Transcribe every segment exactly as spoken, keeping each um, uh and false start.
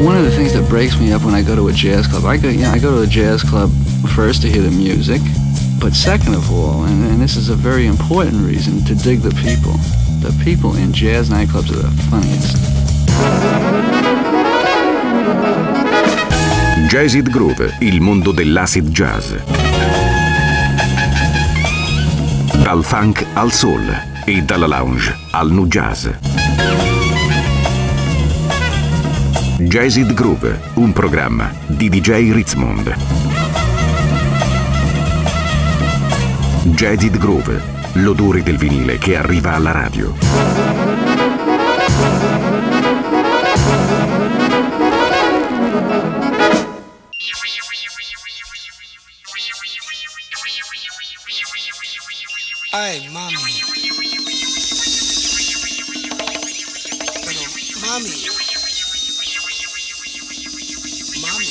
one of the things that breaks me up when I go to a jazz club, I go, you know, I go to a jazz club first to hear the music, but second of all, and, and this is a very important reason, to dig the people. The people in jazz nightclubs are the funniest. Jazzid Groove, il mondo dell'acid jazz. Dal funk al soul e dalla lounge al nu jazz. Jazzid Groove, un programma di D J Ritzmond. Jazzid Groove, l'odore del vinile che arriva alla radio. Ay, mami. Pero, mami. Mami.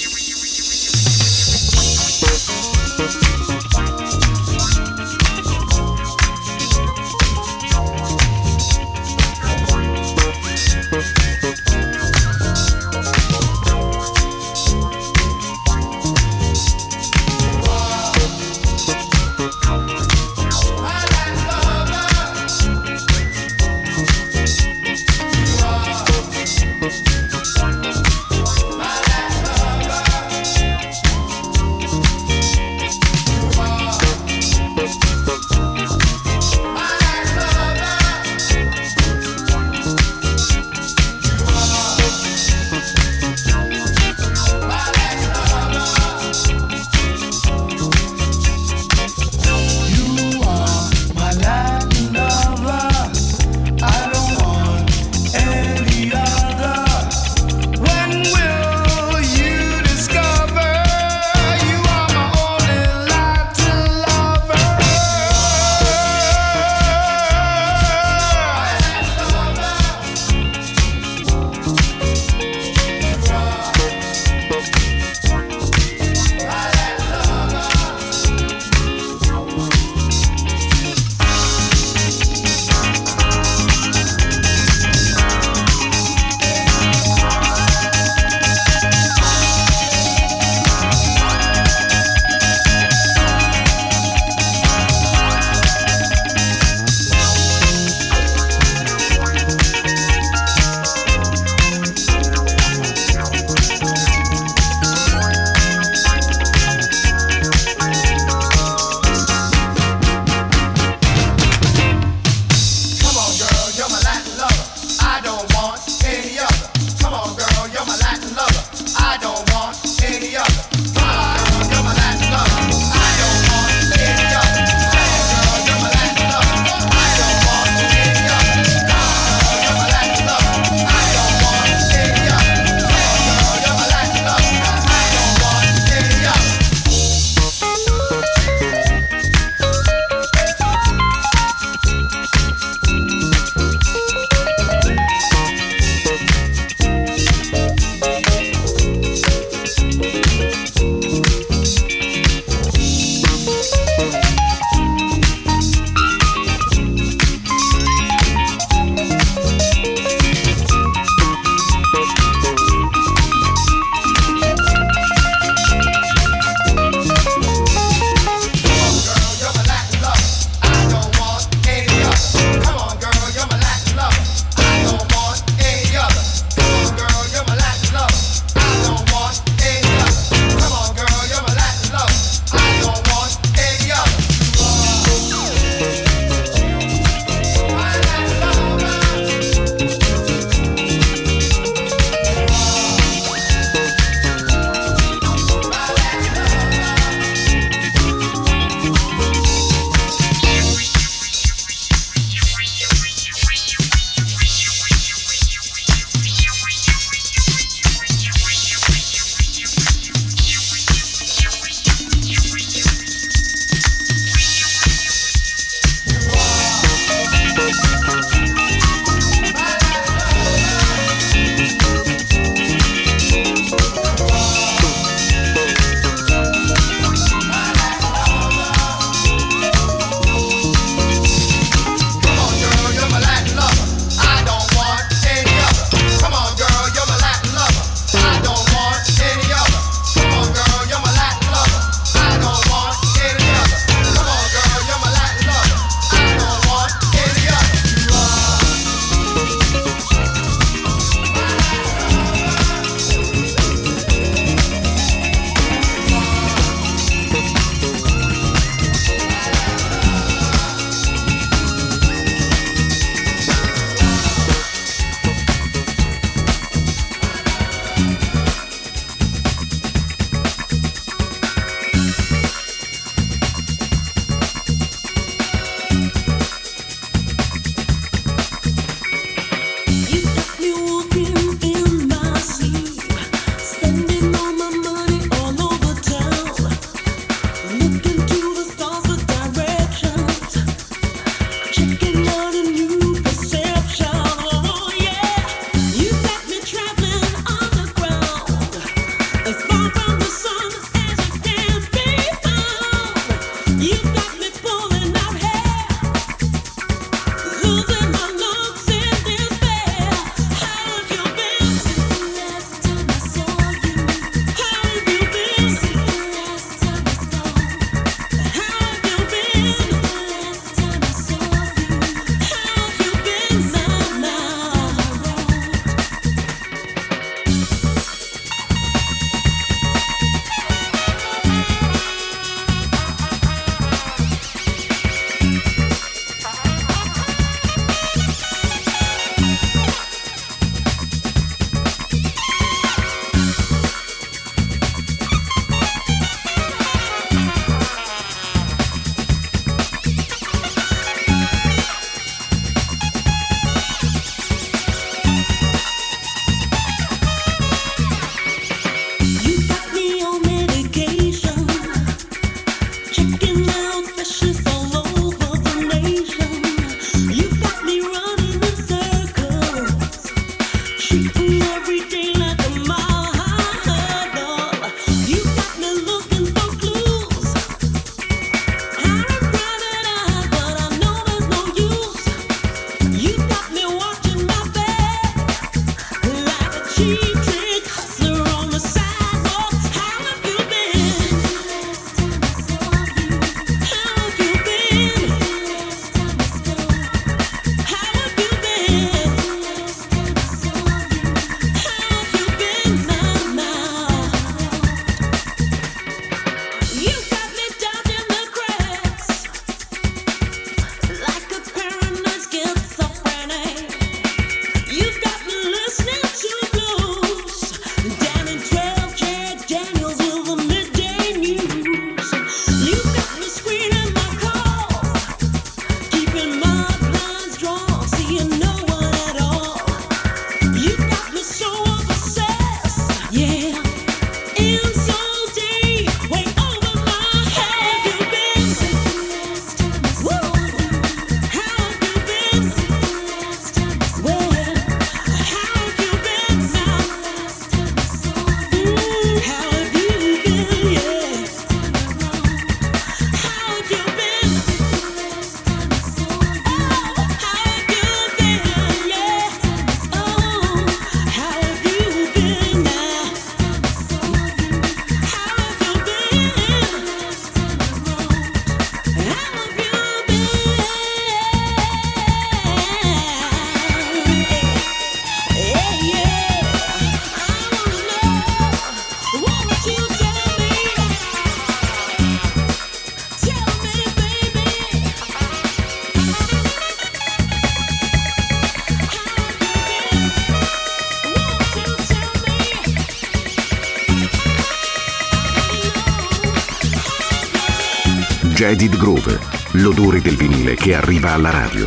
Jaded Groove, l'odore del vinile che arriva alla radio.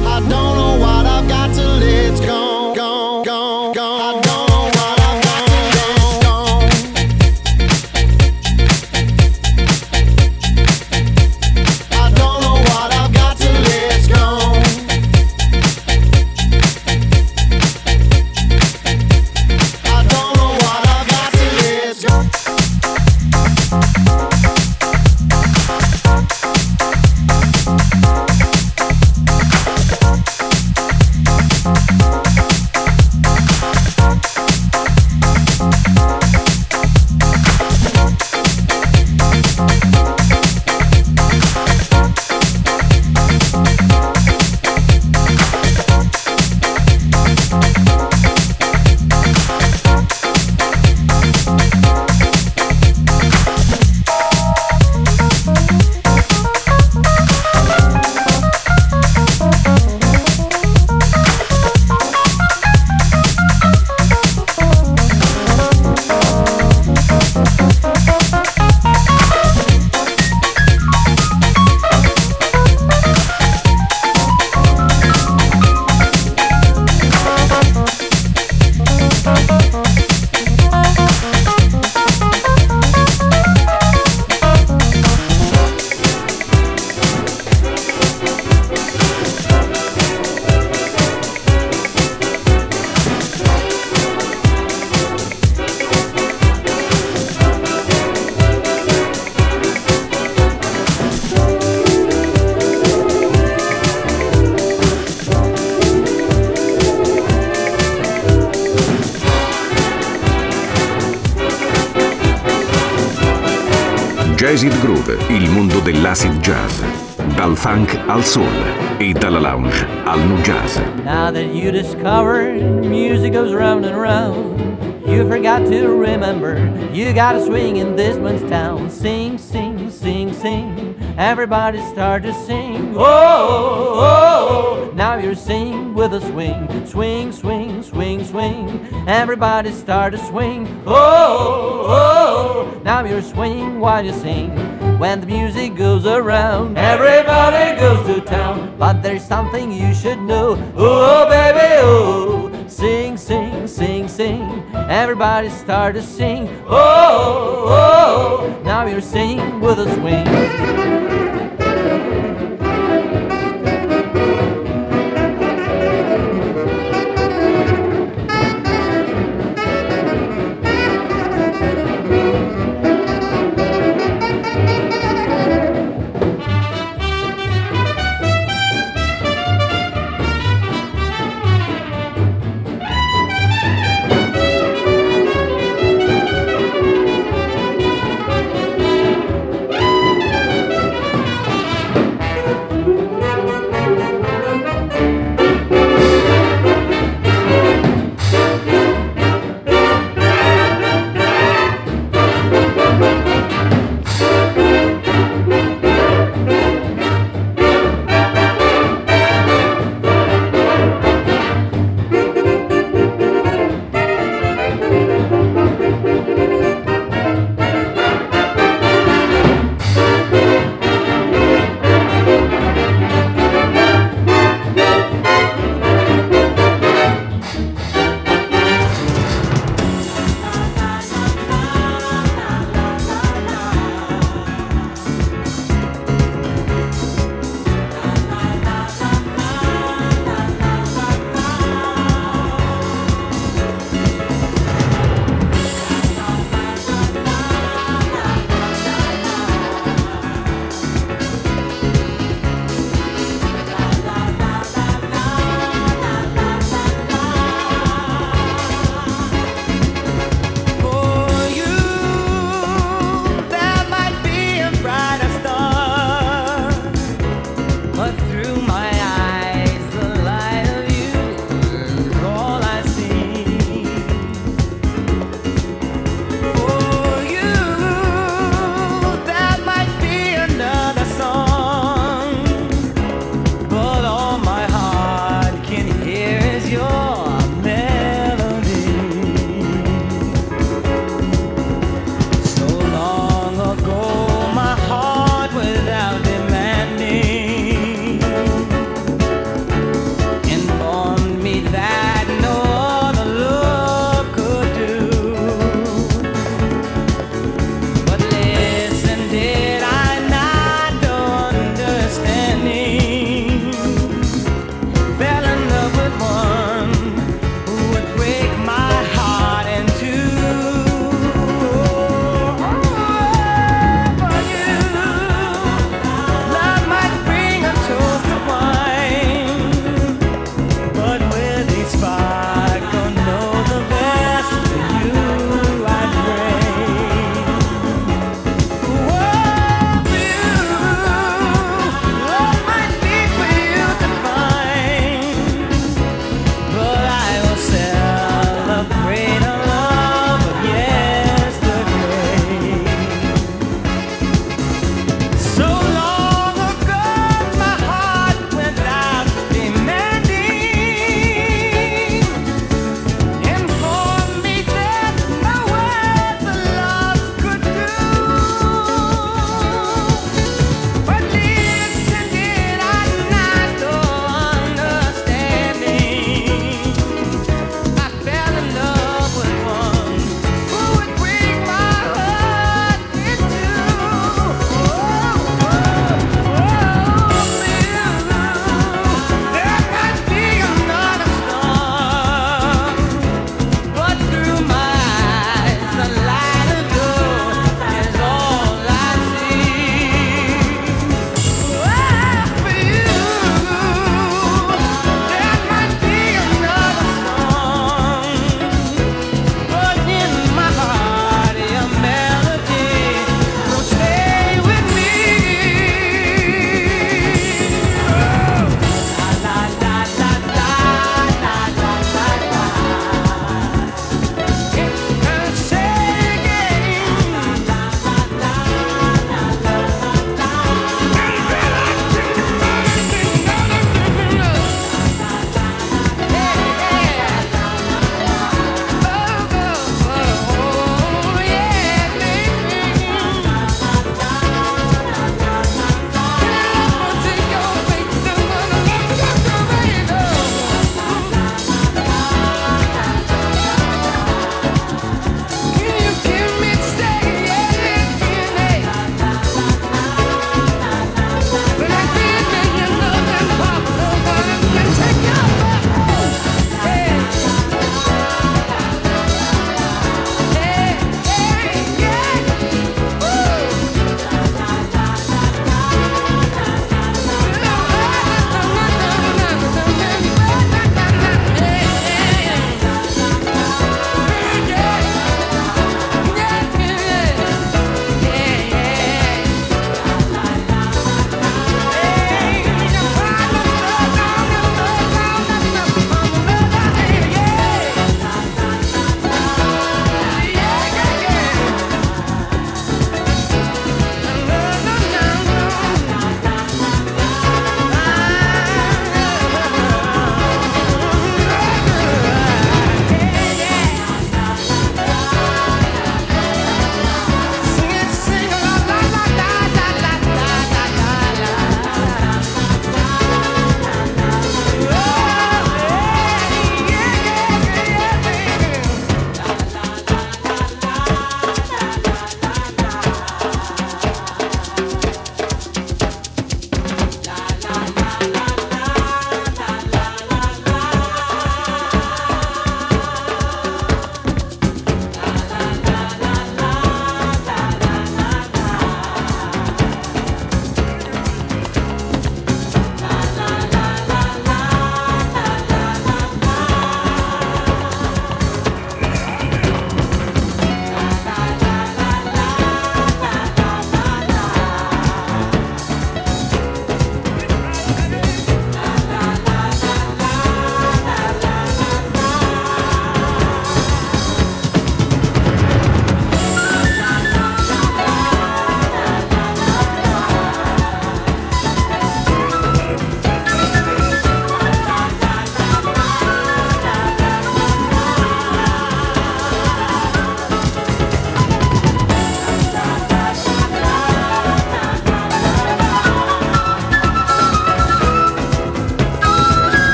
Gone, gone, gone. I don't know what I've got to Acid Groove, il mondo dell'acid jazz. Dal funk al soul e dalla lounge al nu jazz. Now that you discovered music goes round and round, you forgot to remember you gotta swing in this man's town. Sing, sing, sing, sing. Everybody start to sing. Oh, oh, oh. Now you're singing with a swing. Swing, swing, swing, swing. Everybody start to swing. Oh, oh, oh. Now you're swinging while you sing. When the music goes around, everybody goes to town. But there's something you should know. Oh, baby, oh. Sing, sing, sing, sing. Everybody start to sing. Oh, oh, oh. Now you're singing with a swing.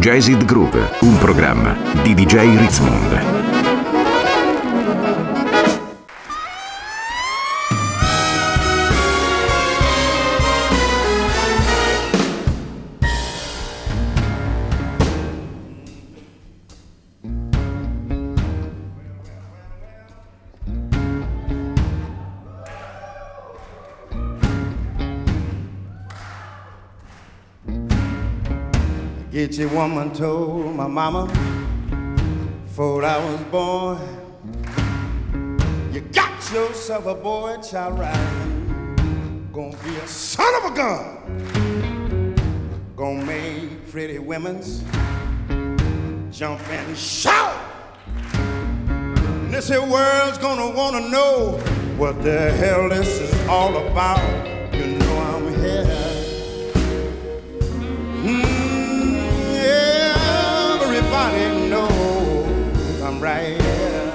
Jazzed Groove, un programma di D J Ritzmond. Gitchy woman told my mama before I was born, you got yourself a boy child riding, gonna be a son of a gun, gonna make pretty women's jump and shout. And this here world's gonna wanna know what the hell this is all about. You know I'm here. Everybody knows I'm right here.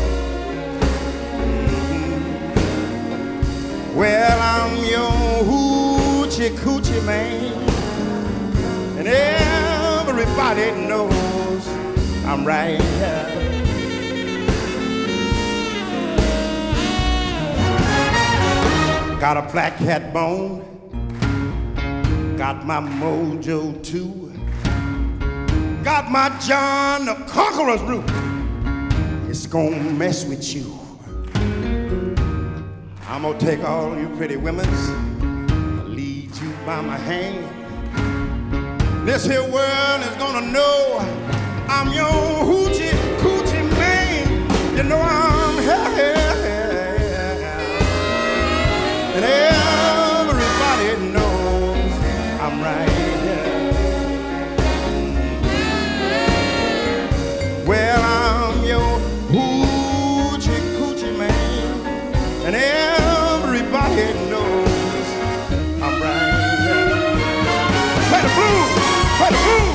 Mm-hmm. Well, I'm your hoochie coochie man, and everybody knows I'm right here. Got a black cat bone, got my mojo too. Got my John the Conqueror's root. It's gonna mess with you. I'm gonna take all you pretty women's, lead you by my hand. This here world is gonna know I'm your hoochie coochie man. You know I'm here, and everybody knows I'm right here. Well, I'm your hoochie coochie man, and everybody knows I'm right here. Play the blues, play the blues.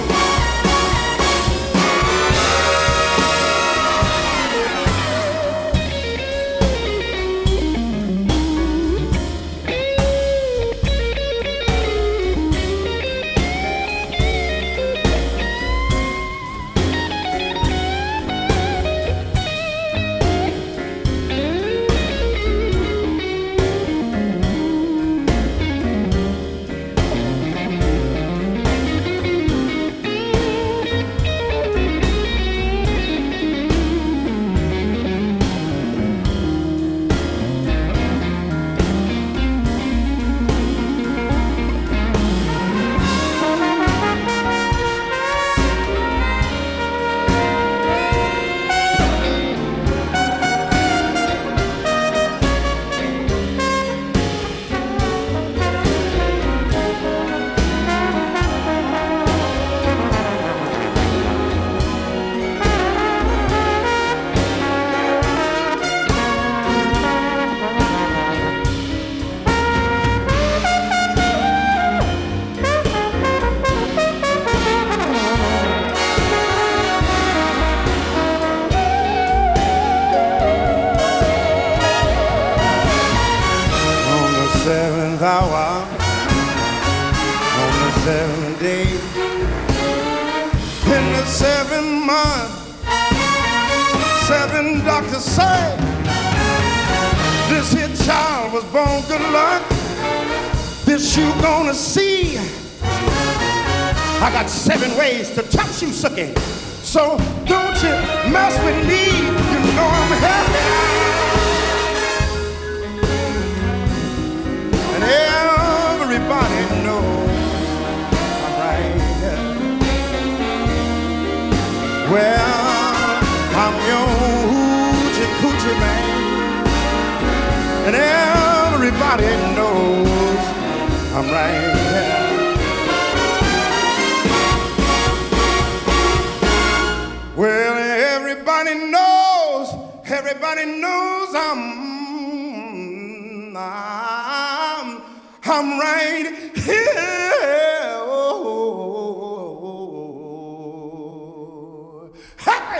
I got seven ways to touch you, sucking. So don't you mess with me, you know I'm happy. And everybody knows I'm right here. Well, I'm your hoochie coochie man, and everybody knows I'm right here. Well, everybody knows, everybody knows I'm, I'm, I'm right here. Oh, hey!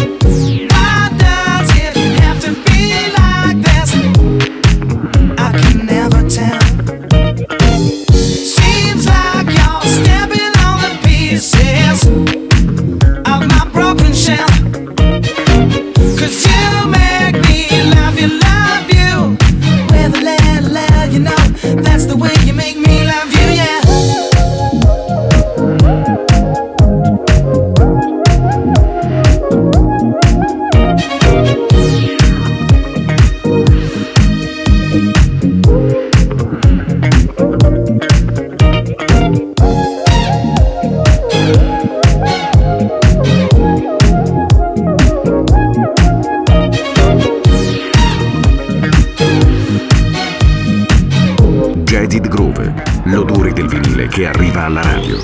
Che arriva alla radio.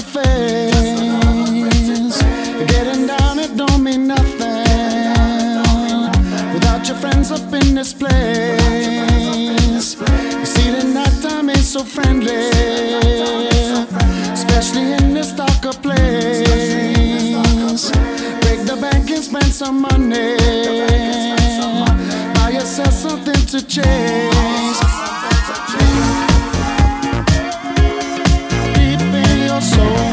face. Getting down, it don't mean nothing without your friends up in this place. You see, the night time is so friendly, especially in this darker place. Break the bank and spend some money. Buy yourself something to chase. Deep in your soul,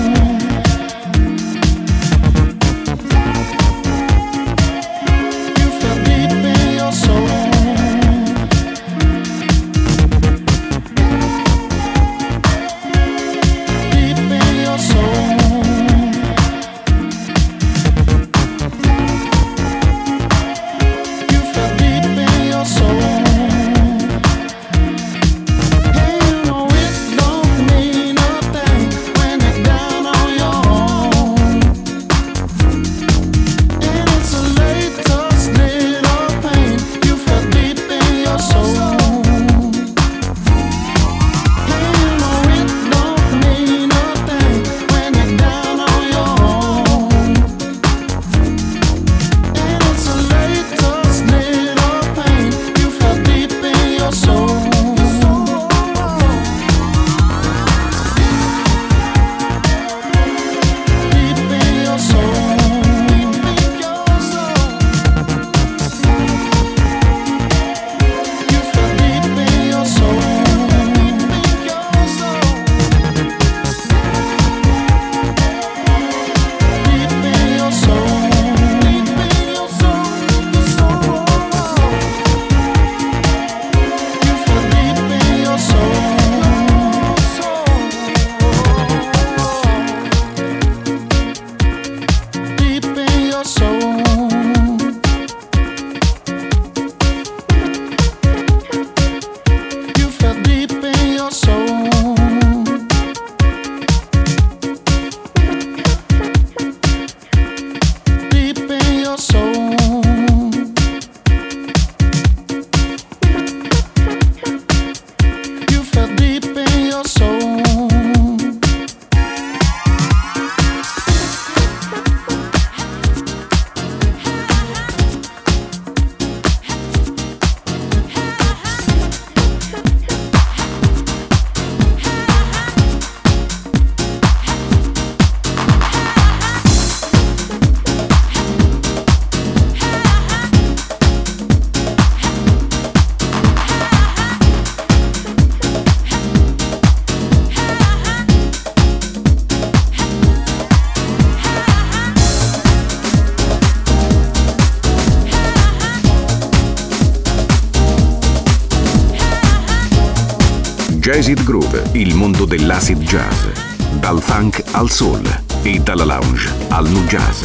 you feel deep in your soul. Jazz It Groove, il mondo dell'acid jazz. Dal funk al soul e dalla lounge al nu jazz.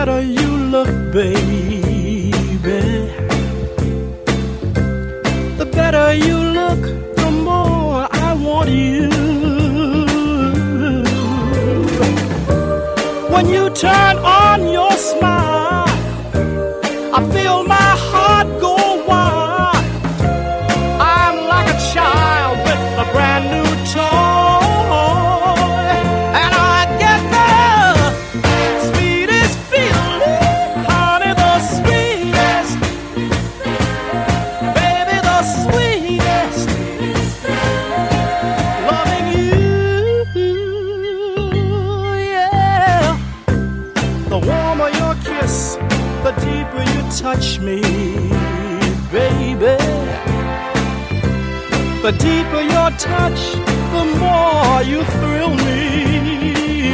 better you look, baby. The better you look, the more I want you. When you turn on your smile, I feel my heart go wild. I'm like a child with a brand new toy, and I get the sweetest feeling, honey, the sweetest, baby, the sweetest, loving you, yeah. The warmer your kiss, the deeper you touch me, baby. The deeper your touch, the more you thrill me.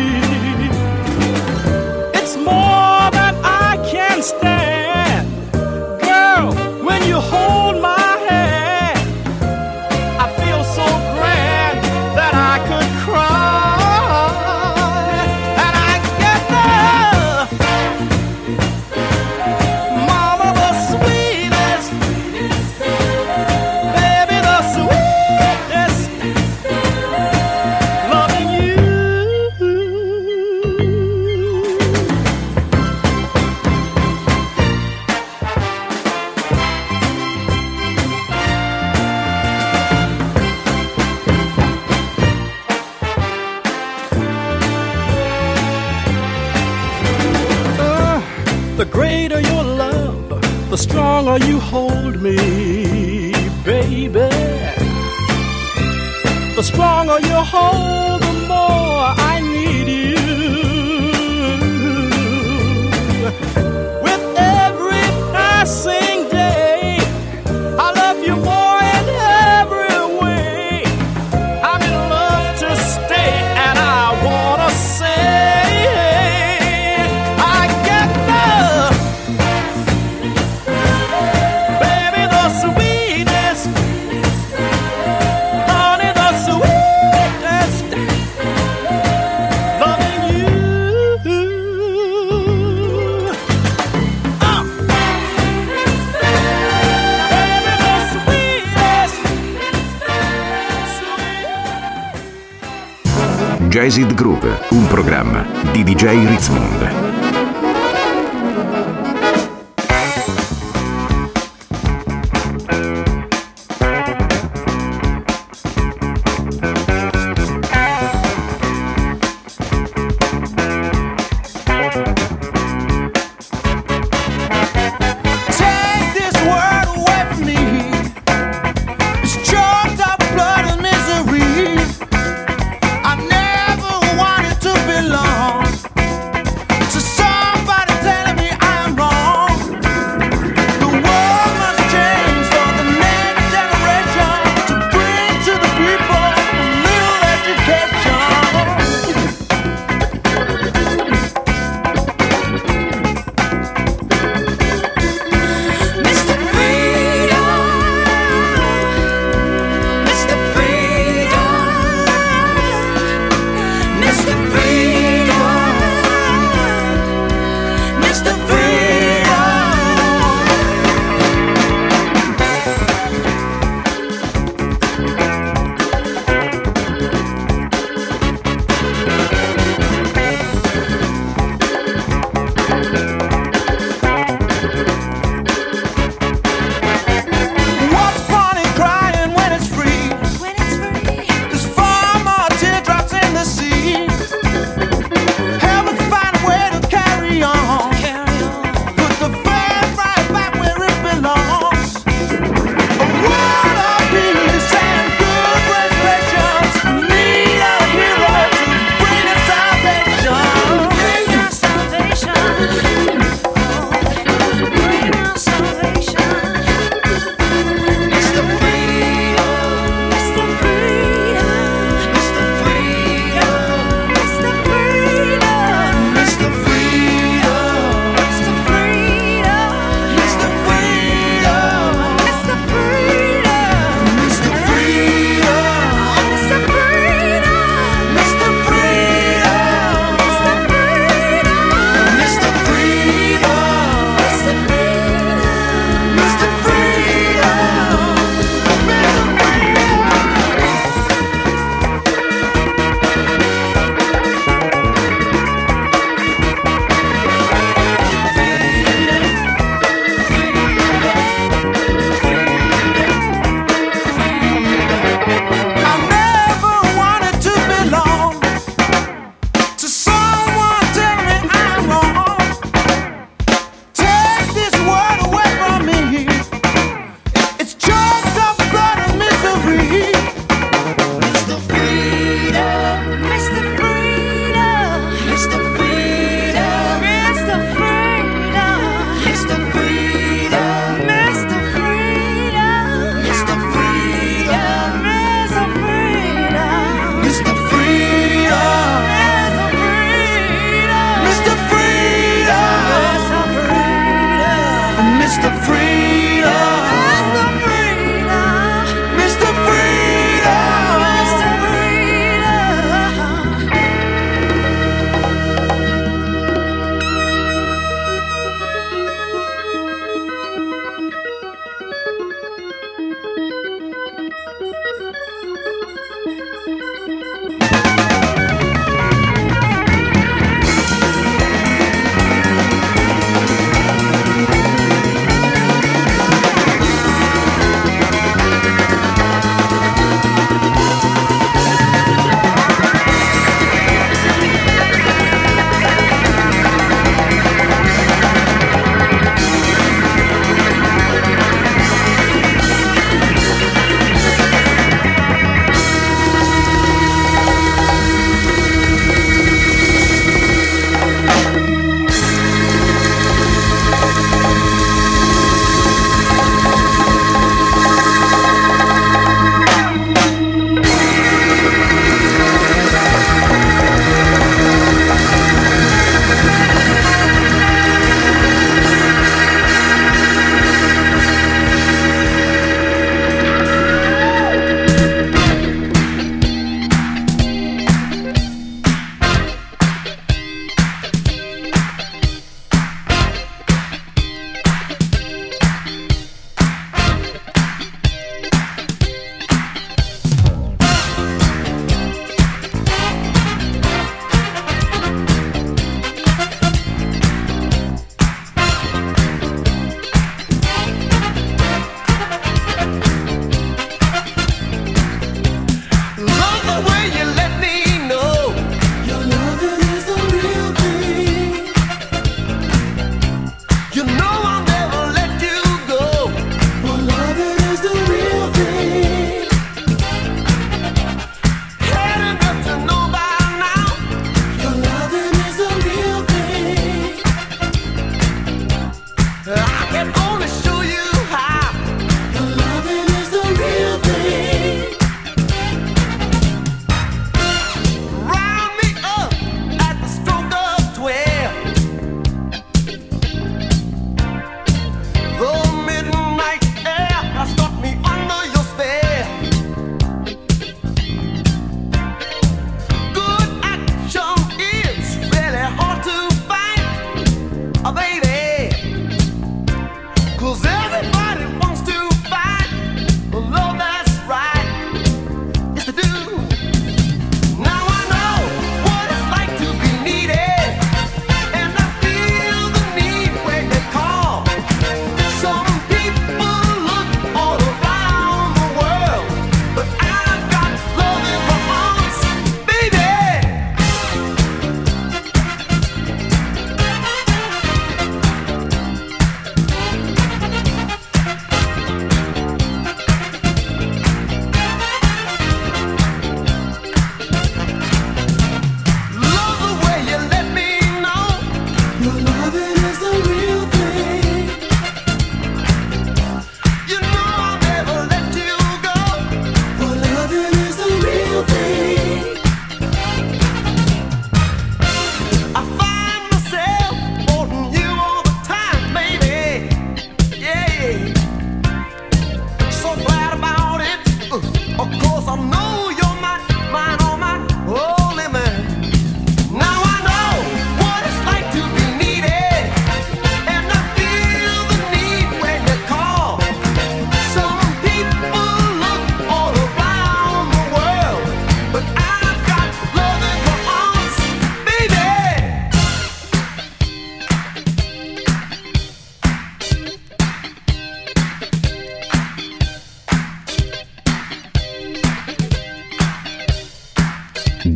It's more than I can stand. Girl, when you hold my hand, I feel so grand that I could cry. And I get the mama, the sweetest, baby, the sweetest, loving you. Uh, the greater your love, the stronger you hold me, baby. The stronger you hold, the more I need you. With every passing day, I love you more in every way. I'm in love to stay, and I wanna say, I get the baby, the sweetest, honey, the sweetest, loving you. Uh. Baby, the sweetest, sweet. Jazzed Groove, un programma di D J Ritzmond. Take this world away from me. It's choked up blood and misery. I never wanted to belong to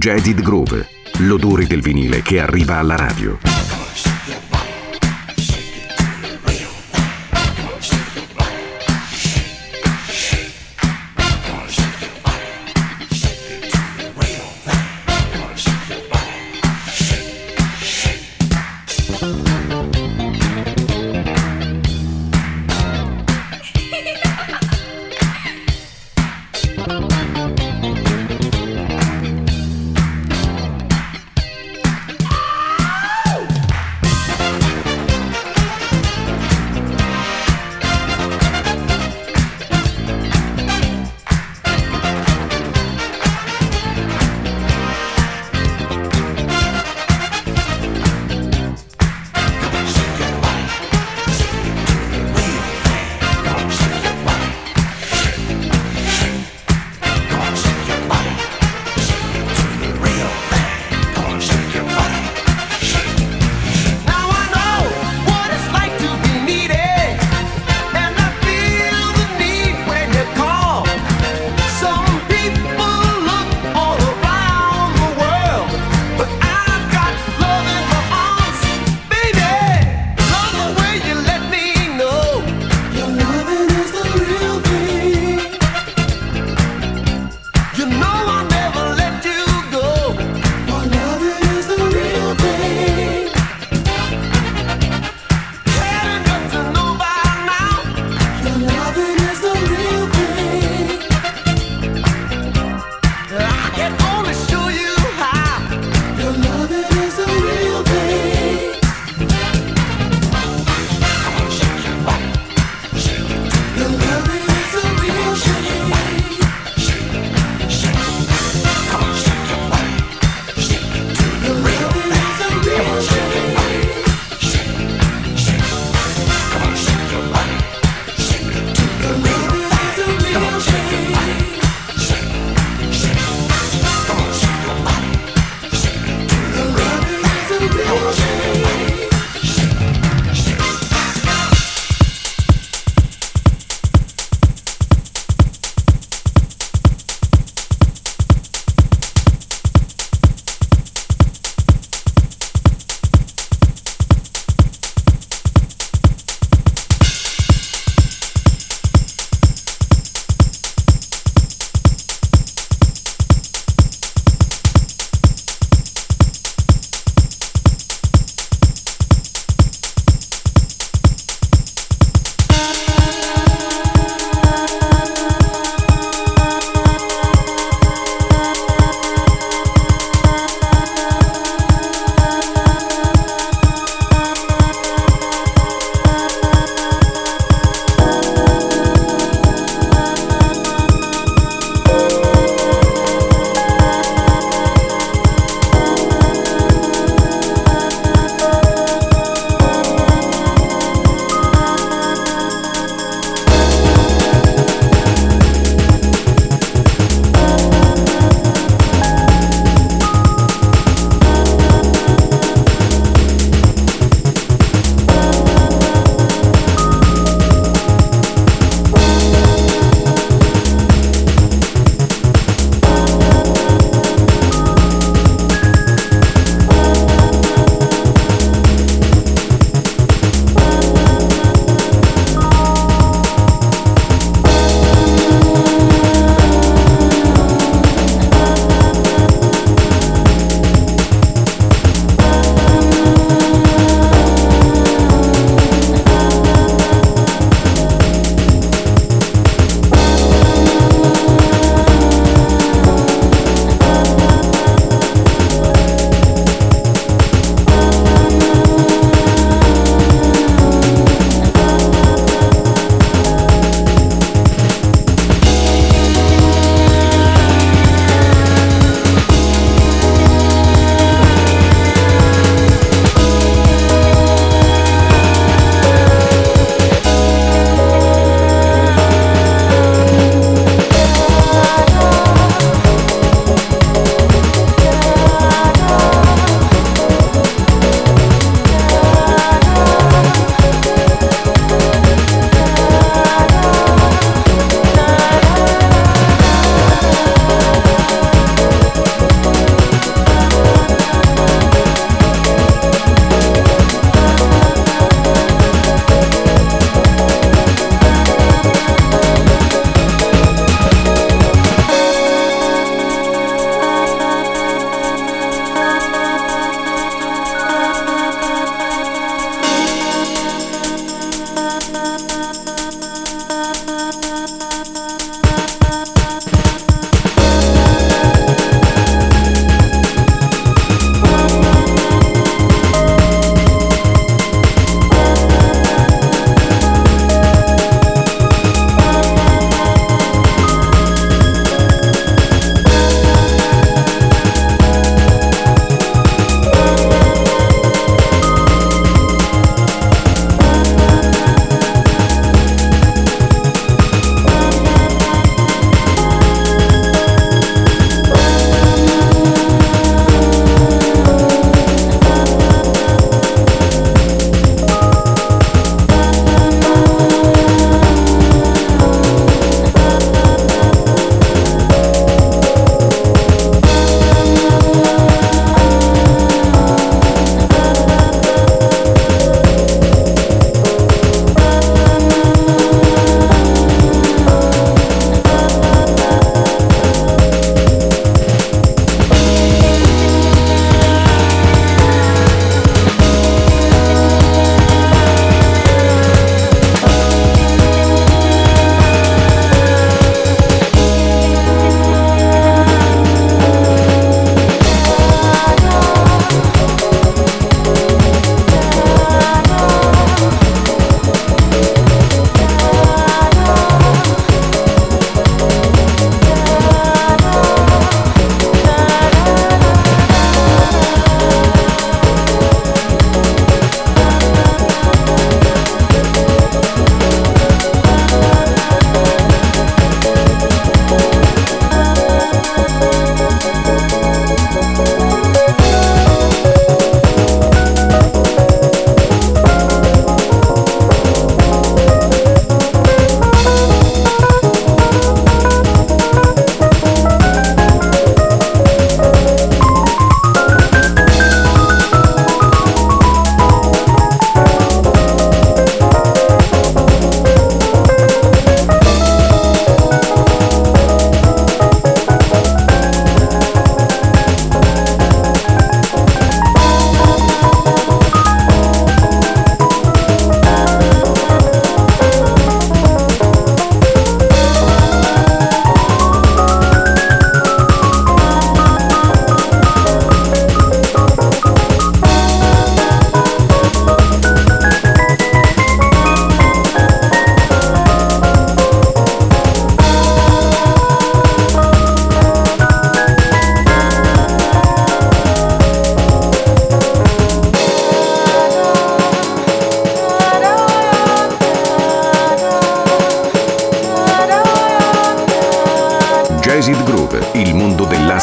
Jazz It Groove, l'odore del vinile che arriva alla radio.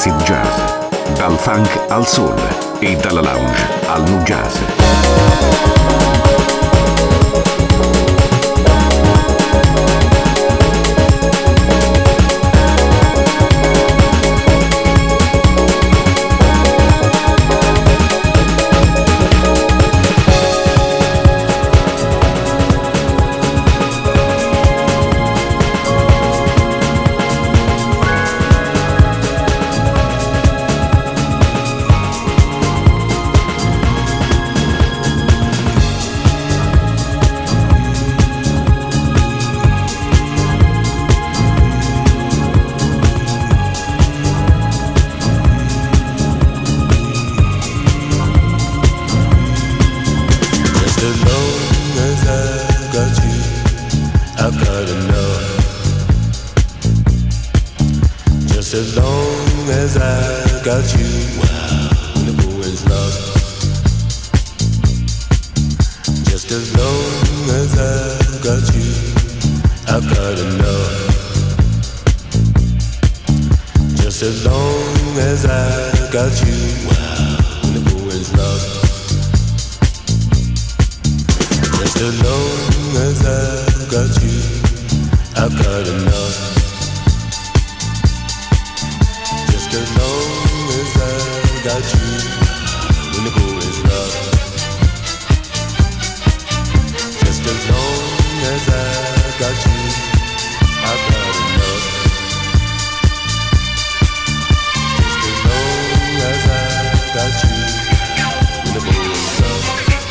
dell'acid jazz, dal funk al soul e dalla lounge al nu jazz. As long as I got you, when the moon's lost. Just as long as I got you, I've got enough. Just as long as I got you, when the moon's lost. Just as long as I got you, I've got enough. As long as I got you, when the going is rough. Just as long as I got you, I've got enough. Just as long as I got you, when the going is rough.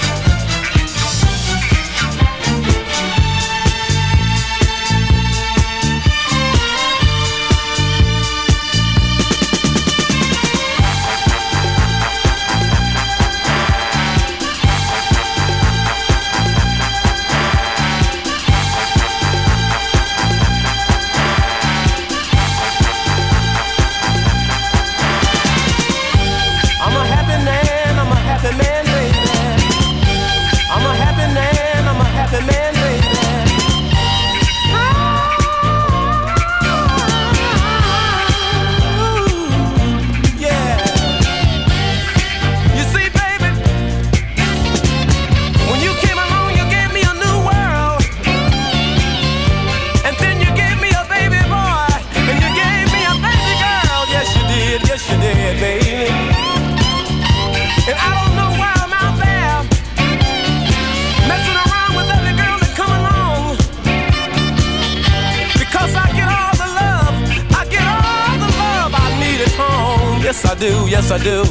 Yes, I do, yes, I do.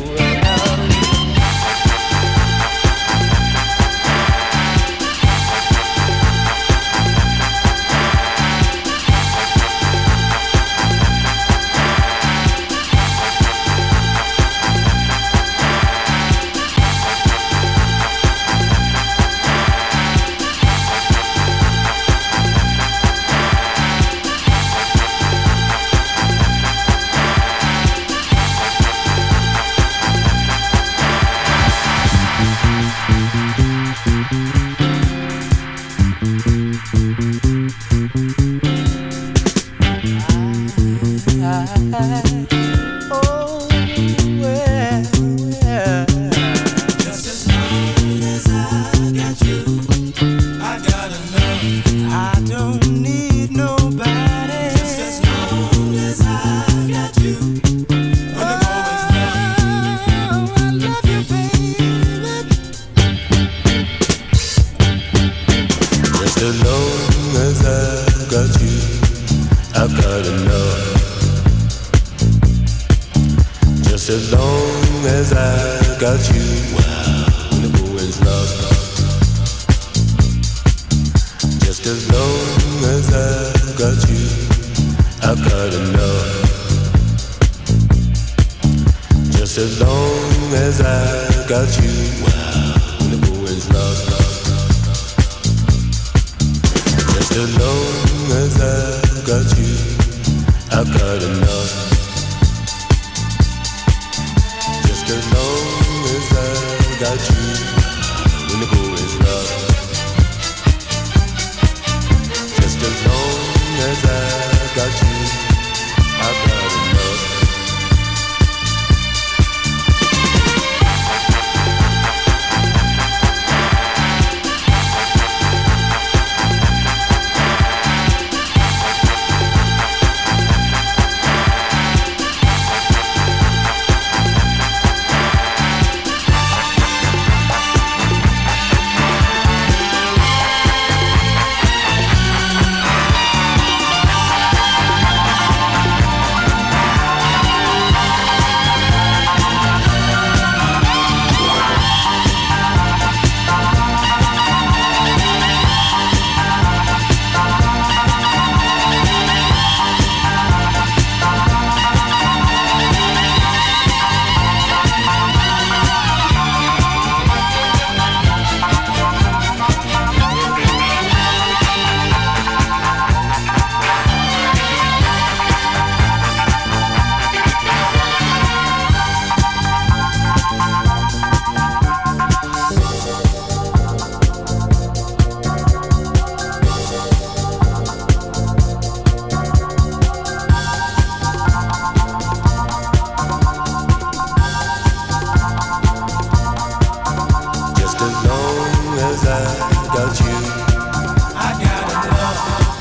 got you. I gotta love.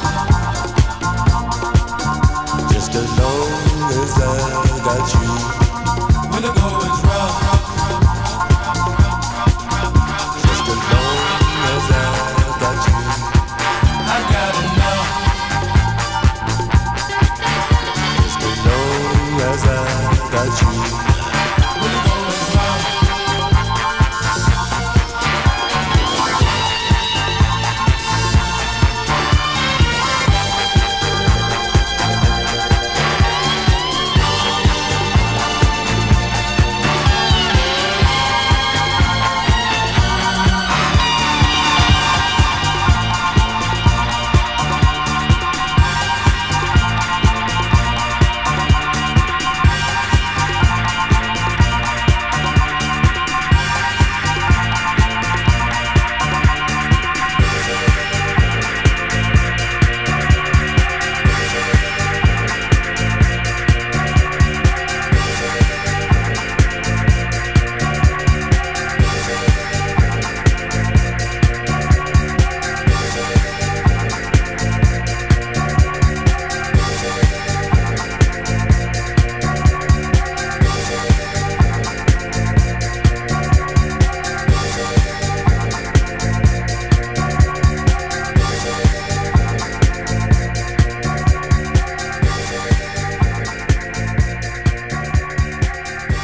Just as long as I got you. When the going's rough. Just as long as I got you. I gotta know. Just as long as I got you. When the going's rough.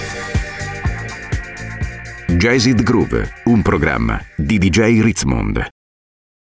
Jazz It Groove, un programma di D J Ritzmond.